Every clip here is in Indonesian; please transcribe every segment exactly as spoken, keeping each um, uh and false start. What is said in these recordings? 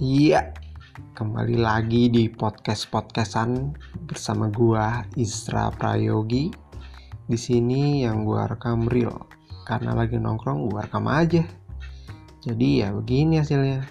Iya, kembali lagi di podcast-podcastan bersama gua Isra Prayogi. Di sini yang gua rekam real, karena lagi nongkrong gua rekam aja. Jadi ya begini hasilnya.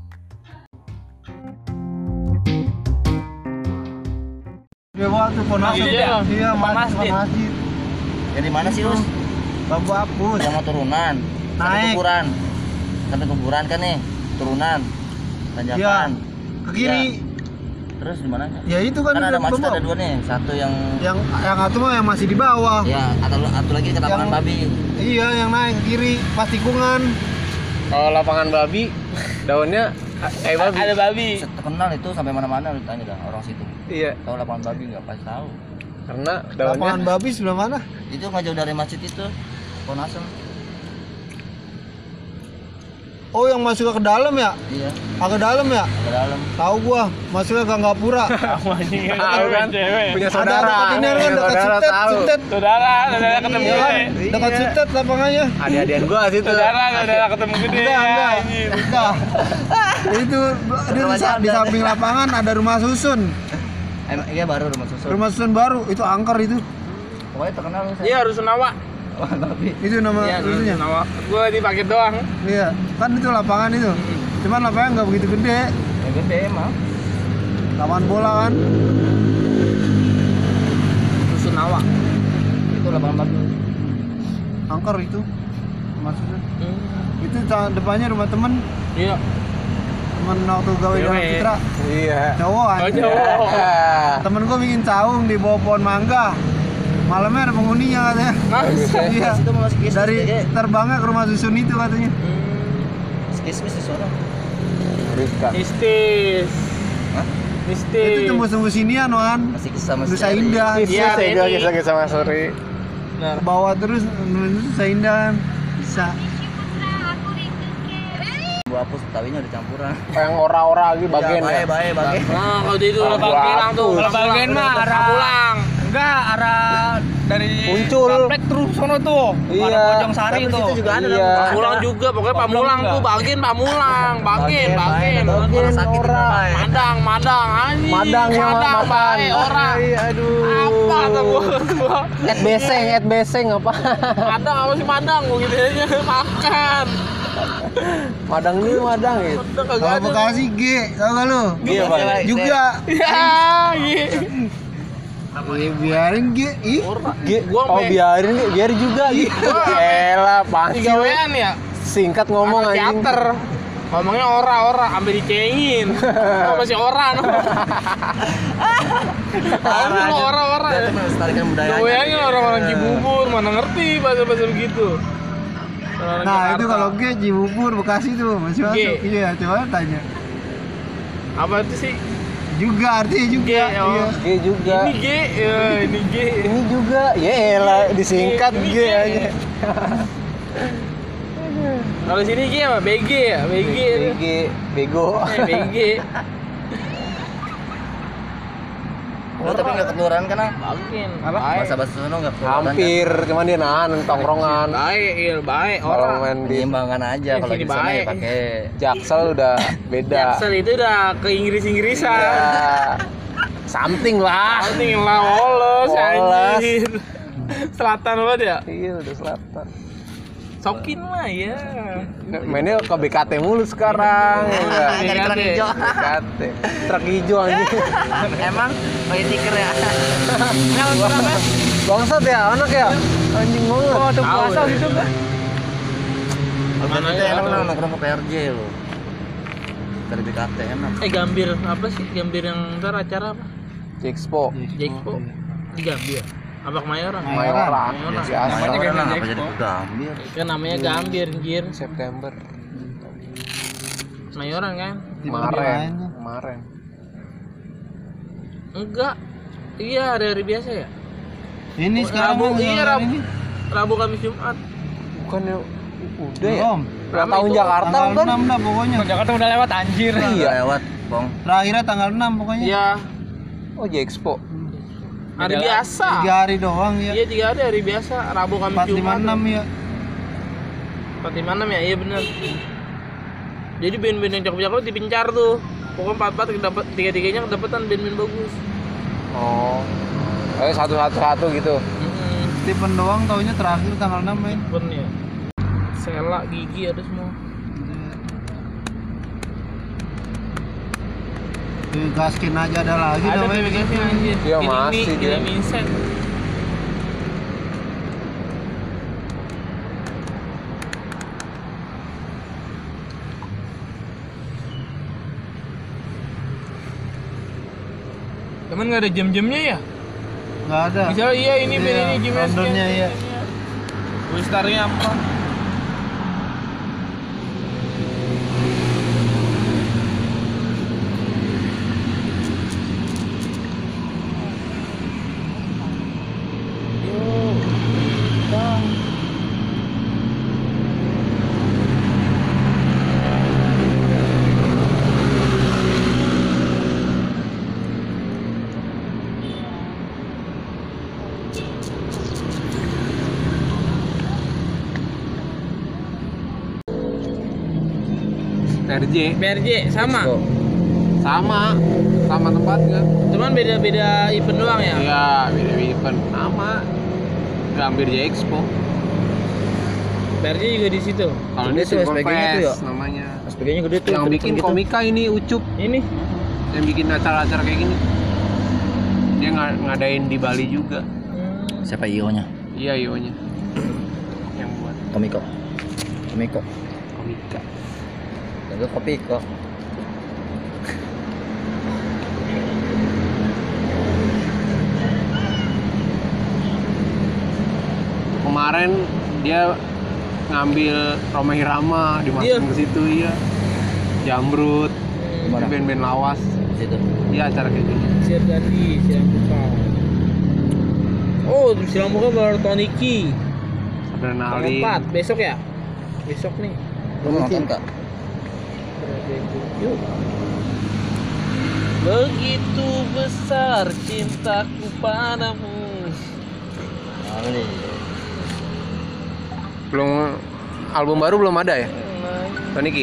Ya waktu Ponasir ya? Iya, masjid. masjid. Dari mana sih, Us? Bambu apus. Yang mau turunan. Sampai Naik. kuburan. Sampai kuburan kan nih, turunan. Tanjakan. Iya. Ke kiri. Ya. Terus di mana? Ya itu kan, Kan ada masjid bawah. ada dua nih. Satu yang Yang yang satu mah yang masih di bawah. ya atau satu lagi ke lapangan Yang- babi. Iya, yang naik ke kiri pas tikungan. Kalau lapangan babi, daunnya kayak babi. Ada babi. Terkenal itu sampai mana-mana lu tanya dah orang situ. Iya, Tahu lapangan babi enggak? Pasti tahu. karena Lapangan daunnya babi sebelah mana? Itu nggak jauh dari masjid itu. Ponasem. Oh, yang masuk ke dalam ya? Iya, Agak dalam ya? ke dalam. Tahu gua, masuknya ke Gapura. Kamu anjing kan tahu kan, cewek. punya Ada saudara. dekat ini kan, Punya dekat saudara Sutet, tahu. Sutet. Saudara, saudara ketemu Iya kan? gede. Dekat Iya. Sutet lapangannya. Adik-adian gua situ. Saudara, saudara ketemu gede. Enggak, enggak. anjing. Enggak. Itu dia di, sa- di samping lapangan ada rumah susun. Emang iya baru rumah susun. Rumah susun baru, itu angker itu. Pokoknya terkenal lu. Iya, harus Sunawa. Lapangan babi. Itu nama Iya, harus susunnya. Sunawa. Gua dipakai doang. Iya, kan itu lapangan itu. Cuman lapangan nggak begitu gede. Ya gede emang. Lapangan bola kan. Sunawa. Itu lapangan babi. Angker itu. Rumah susun. Hmm. Itu ca- depannya rumah temen. Iya. Temen waktu gawe Cewek. dalam Citra. Iya. Cowok Oh, kan. cowok. Temen gua bikin saung di bawah pohon mangga. Malamnya ada penghuninya katanya. Masa? Iya. Situ mau masuk kismis Dari deh. terbangnya ke rumah susun itu katanya. Kismis di sana. Rizka. Mistis. Hah? Mistis. Itu tembus-tembus sinian wan. Masih kisah masih. Nusa Indah. Iya, Saya Benny. kisah-kisah Mas Suri. Benar. Ke bawah terus menuju Nusa Indah kan. Bisa. Gua hapus tawinya udah campuran. Yang ora-ora lagi bagian bae ya. bae bae. Nah, kalau itu Ah, lebak gua bilang tuh, hapus. lebak bagian mah arah pulang. Enggak, arah dari Muncul. Kaplek terus sono tuh. Iya. Ada Bojong Sari Tapi tuh. situ juga ada. Iya. Pamulang juga, pokoknya Pamulang tuh, bagian Pamulang, bagian, bagian. Bagian Orang sakit ora. kenapa ya? Madang, Madang, anjing. Madang yang Madang, makan. bae, orang. Iya, aduh. Apa tuh gua? gua. Et beseng, et beseng apa? Madang apa sih Madang? Gua gitu aja makan. Madang ini madang ya. Madang kagak Kalau ada. Bekasi G, tau gak lu? Iya, Bang. Juga. Ya, iya. Ya, biarin G. Ih. Gi- Gua oh sampe- biarin biar juga gitu. Elah, pasti Tiga wean ya? singkat ngomong Anak anjing. teater. Ngomongnya ora-ora, sampai dicengin. Oh, masih ora no. Ngomongnya lo ora-ora ya. Itu melestarikan budaya. Goyangin orang-orang Cibubur, mana ngerti bahasa-bahasa begitu. Orang Nah, Jakarta. itu kalau G Cibubur Bekasi tuh masih G. masuk. Iya, coba tanya. Apa itu sih? Juga artinya juga. G, oh. Iya. G juga. Ini G, ya, ini G. Ini juga. Ya elah, disingkat Ini G G. aja. Kalau sini G apa? B G ya? B G. G bego. Eh, B G. Lu tapi enggak ketularan kan? Ah? Bagian. Apa? Baik. Bahasa-bahasa sono enggak ketularan. Hampir, cuman dia nahan tongkrongan. Baik, iya, baik. Kalau Orang. main di Menyeimbangkan aja Eh, kalau sini di sana ya baik. pakai Jaksel udah beda. Jaksel itu udah ke Inggris-Inggrisan. Ya, something lah. Anjing lah woles Woles. anjir. Selatan banget ya? Iya, udah selatan. Sokin lah ya. Mainnya ke B K T mulu sekarang. Ya enggak? Iya, Nyari kerang deh. hijau. B K T. Truk hijau anjing. Emang pakai stiker ya. Kenal berapa? Bangsat ya, anak ya. Anjing banget. Oh, ada Tahu puasa ya. gitu kan? Mana ya? enak lah nongkrong ke P R J lo. Dari B K T enak. Eh Gambir apa sih? Gambir yang ntar acara apa? Expo. Jexpo. Di Gambir. Apa Kemayoran? Mayoran. Mayoran. Biasa. Namanya Gambir kan apa Expo. jadi gambir. Kan namanya Gambir, anjir. September. Mayoran kan? Kemarin. Kemarin. Enggak. Iya, hari-hari biasa ya? Ini sekarang Rabu, mau iya ngeluarin Rabu. ini. Rabu Kamis Jumat. Bukannya udah ya? Belum. Ulang Rame tahun itu. Jakarta Tanggal kan? enam dah pokoknya. Jakarta udah lewat anjir. Iya. Lewat, Bong. Terakhirnya tanggal enam pokoknya. Iya, Oh, J-Expo. hari biasa. Tiga hari doang ya. Iya, tiga hari hari biasa. Rabu Kamis Empat lima Jumat. enam ya. empat lima enam ya, iya benar. Jadi band-band yang cakep-cakep dipincar tuh. Pokoknya empat-empat dapat tiga-tiganya kedapetan band-band bagus. Oh. Eh satu-satu-satu gitu. Mm-hmm. Stephen doang taunya terakhir tanggal enam main. Stephen ya. Sela, Gigi ada semua. Gaskin aja ada lagi Ada namanya. bebeknya anjir. Iya, Ini- masih ini- dia. ini Vincent. Cuman nggak ada jam-jamnya ya? Enggak ada. Misalnya iya ini Iya, band ini jamnya Londonnya, sekian, iya. Wistarnya apa? P R J B R J sama. Expo. sama sama tempatnya. Cuman beda-beda event doang ya. Iya, beda event sama. Gambir J Expo. B R J juga di situ. Kalau Gede ini tuh Simple S P G-nya tuh ya? Fest namanya. S P G-nya gede tuh. Yang kenceng bikin gitu. komika ini Ucup, Ini yang bikin acara-acara kayak gini. Dia ng- ngadain di Bali juga. Siapa I O-nya? Iya, ionya. Yang buat Komiko. Komiko. komika. Jaga kopi kok. Kemarin dia ngambil Roma Irama dimasukin Iya. ke situ, iya. Jamrut, Gimana? band-band lawas. Situ. Iya, acara kayak gini. Siar Gandhi, Silang Buka. Oh, di Silang Buka baru Toniki. Adrenalin. Empat besok ya? Besok nih. Lu mau nonton kak? Yuk. Begitu besar cintaku padamu. Kali. Belum album baru belum ada ya? Toniki.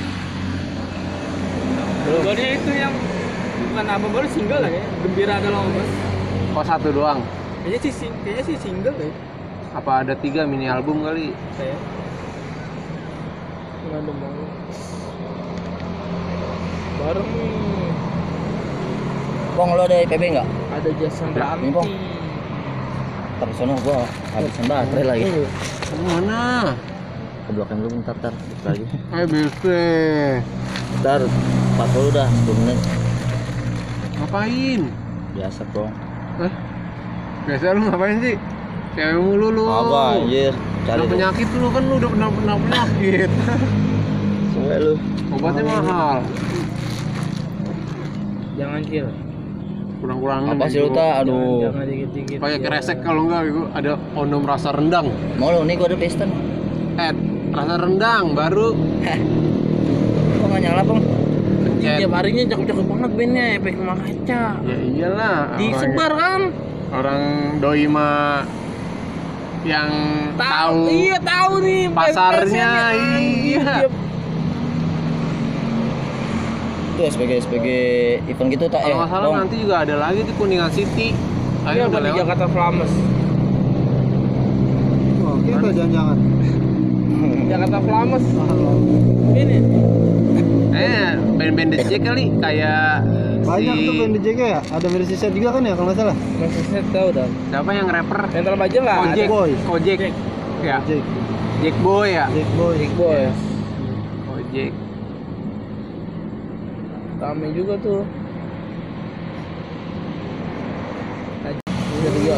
Barunya itu yang bukan apa baru single lah ya. Gembira ada lombas. Oh, satu doang. Kayaknya sih sing- kayaknya sih single ya. Apa ada tiga mini album kali? Kayak. Nggak ada banget. Bareng Bang, lo ada I P B nggak? ada Jason Ini, Ranti. Bang. Ntar sono gua habisin baterai lagi. Mana? Ke Blok M dulu bentar, ntar bentar lagi. Eh, bisa. Ntar empat puluh dah, sepuluh menit. Ngapain? Biasa bro. Eh? Biasa lu ngapain sih? Cewek mulu lu. Apa anjir? Cari Udah tuh. penyakit lu kan, lu udah pernah pernah penyakit. Semua lu. Obatnya mahal. Jangan kill. Kurang-kurangin. Apa sih lu tak? Aduh. Jangan dikit-dikit. Kayak ya. keresek kalau enggak itu ada onom rasa rendang. Mau lu nih gua ada piston. Eh, rasa rendang baru Kok nggak nyala bang? pencet. Tiap harinya cakep-cakep banget bandnya, efek rumah kaca. Ya iyalah. Disebar kan? Orang, orang doi mah yang tahu Iya tahu nih pasarnya, iya. Itu S P G S P G event gitu tak Kalau ya? nggak salah Bang? nanti juga ada lagi di Kuningan City. Ayo Iya udah di lewat. Jakarta Flames. Oke, itu jangan-jangan. Jakarta Flames. Ini Eh, band-band D J kali kayak Banyak si tuh band D J ya. Ada versi set juga kan ya kalau nggak salah. masih saya tahu dah. siapa yang rapper? Mental baja nggak ada. Kojek. Boy. Kojek. Ya, Jack, Jack Boy ya. Jack Boy. Big Boy. Kojek. Kami juga tuh. Bisa lihat.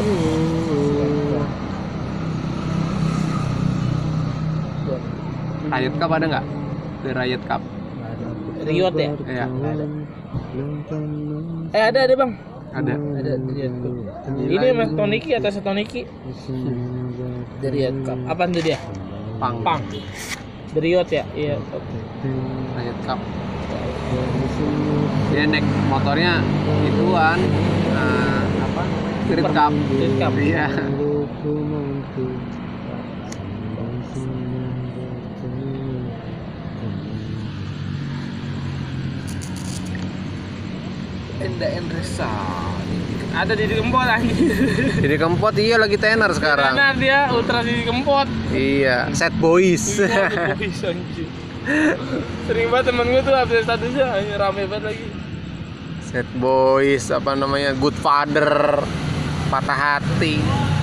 Riot Cup ada nggak? The Riot Cup. Riot ya? Iya. Eh ada ada bang. Ada. Ada Riot Cup. Ini mas Toniki atas Toniki. The Riot Cup. Apaan tuh dia? Pang. Pang. The Riot ya? Iya. Riot Cup. Dia naik motornya ituan eh, apa? Street Cup. Street Cup. Iya. Enda Endresa. Ada di Kempot anjir. Didi Kempot iya lagi tenar sekarang. Tenar dia ultra Didi Kempot. Iya, Set Boys. Iya, boys anjir. Sering banget temen gue tuh update statusnya anjir, rame banget lagi. Set Boys apa namanya? Good Father. Patah hati.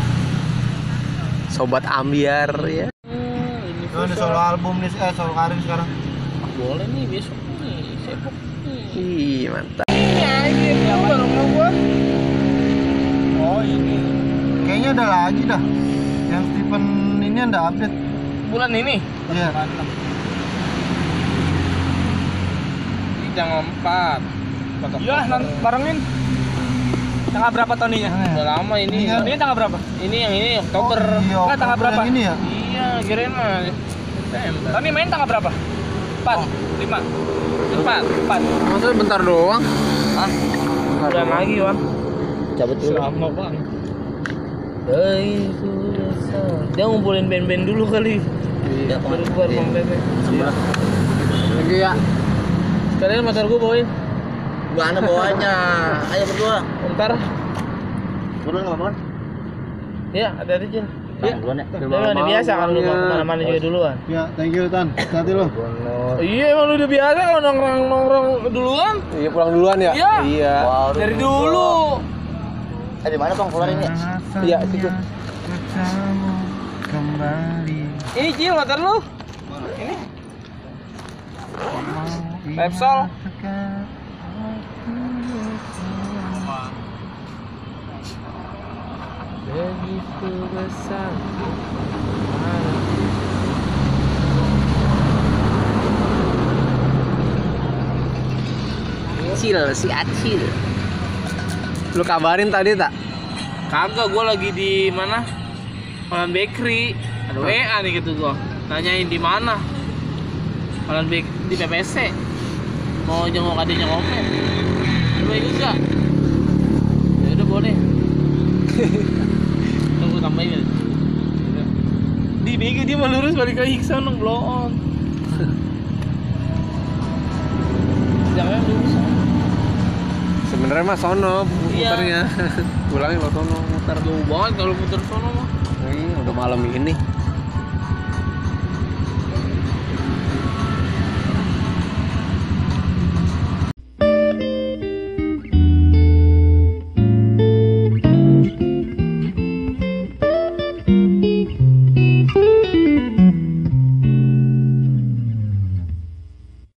Sobat Ambiar ya. Hmm, ini Nah, ini solo album nih, eh solo karir sekarang. boleh nih besok nih, sepok nih. Ih, mantap. Ini anjir, yang baru mau gua. Oh, ini. Kayaknya ada lagi dah. Yang Stephen ini ada update. Bulan ini. Iya. Mantap. Ini tanggal empat. Iya, nanti barengin. Tanggal berapa Toninya? Udah lama ini. Ini kan- Ini tanggal berapa? Ini yang ini Oktober. Oh, iya, Enggak, tanggal Oktober berapa? yang ini ya? Iya, kirain mah September. Tony main tanggal berapa? empat, lima, Empat. empat. Maksudnya bentar doang. Ah, bulan lagi, Wan. Cabut dulu. Selama bang. Eh, dia ngumpulin band-band dulu kali. Iya, Baru keluar iya. Bang Pepe. Sebelah. Lagi ya. Sekalian motor gua bawain. Gua ana bawanya. Ayo berdua. Ntar. Berdua enggak apa-apa. Ya, hati-hati Cil. Ya, duluan ya. Tapi udah biasa kalau lu mau kemana-mana juga duluan. Ya, thank you Tan. Hati lo. Iya, emang lu udah biasa kalau nongkrong-nongkrong duluan. Iya, pulang duluan ya? Iya. Iya. Wow, Dari dulu. Eh di mana Bang keluar ini? Iya, situ. Bertemu kembali. Ini Cil motor lu. Ini. Repsol. Begitu besar. Acil, si Acil. Lu kabarin tadi tak? Kagak, gua lagi di mana? Malan Bakery. Ada W A nih gitu gua. Nanyain di mana? Malan Bake di P P C. Mau jenguk adiknya Ngopet. Coba ikut gak? Ya udah boleh. Tunggu tambahin ya. Di bego dia mau lurus balik ke Hikson dong, blow on. Jangan lurus. Sebenarnya mah sono Iya. muternya. Pulangin lo sono muter. Jauh banget kalau putar sono mah. Iya, udah malam ini.